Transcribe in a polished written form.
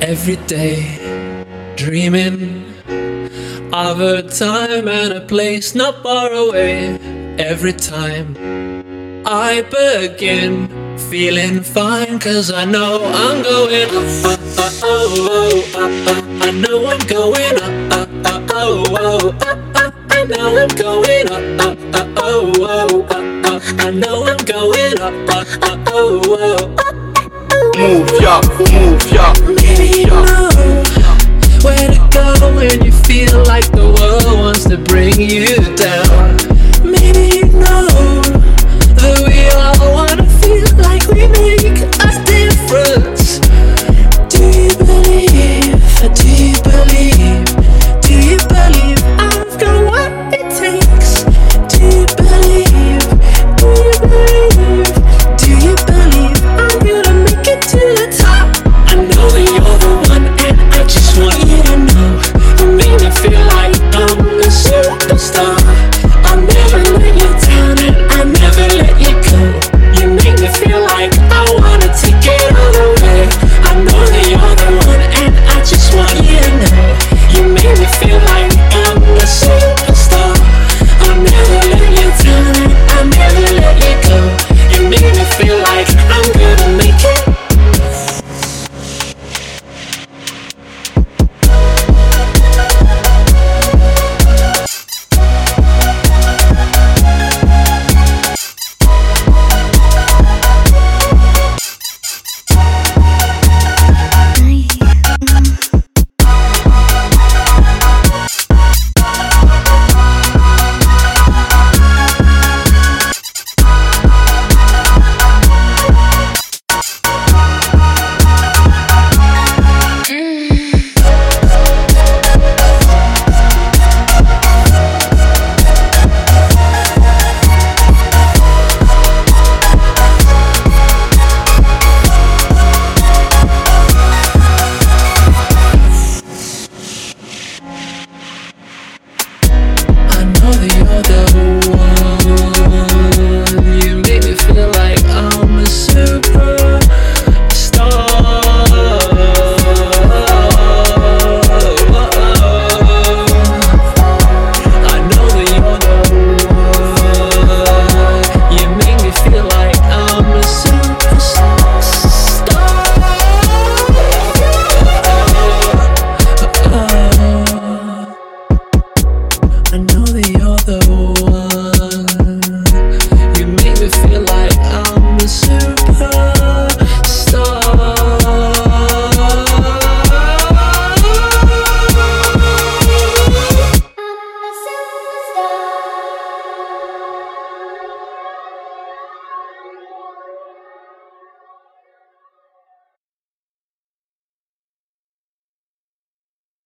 Every day, dreaming of a time and a place not far away. Every time I begin feeling fine, 'cause I know I'm going up, I know I'm going up, I know I'm going up, I know I'm going up, Move ya, move ya, Baby, you know where to go when you feel like the world wants to bring you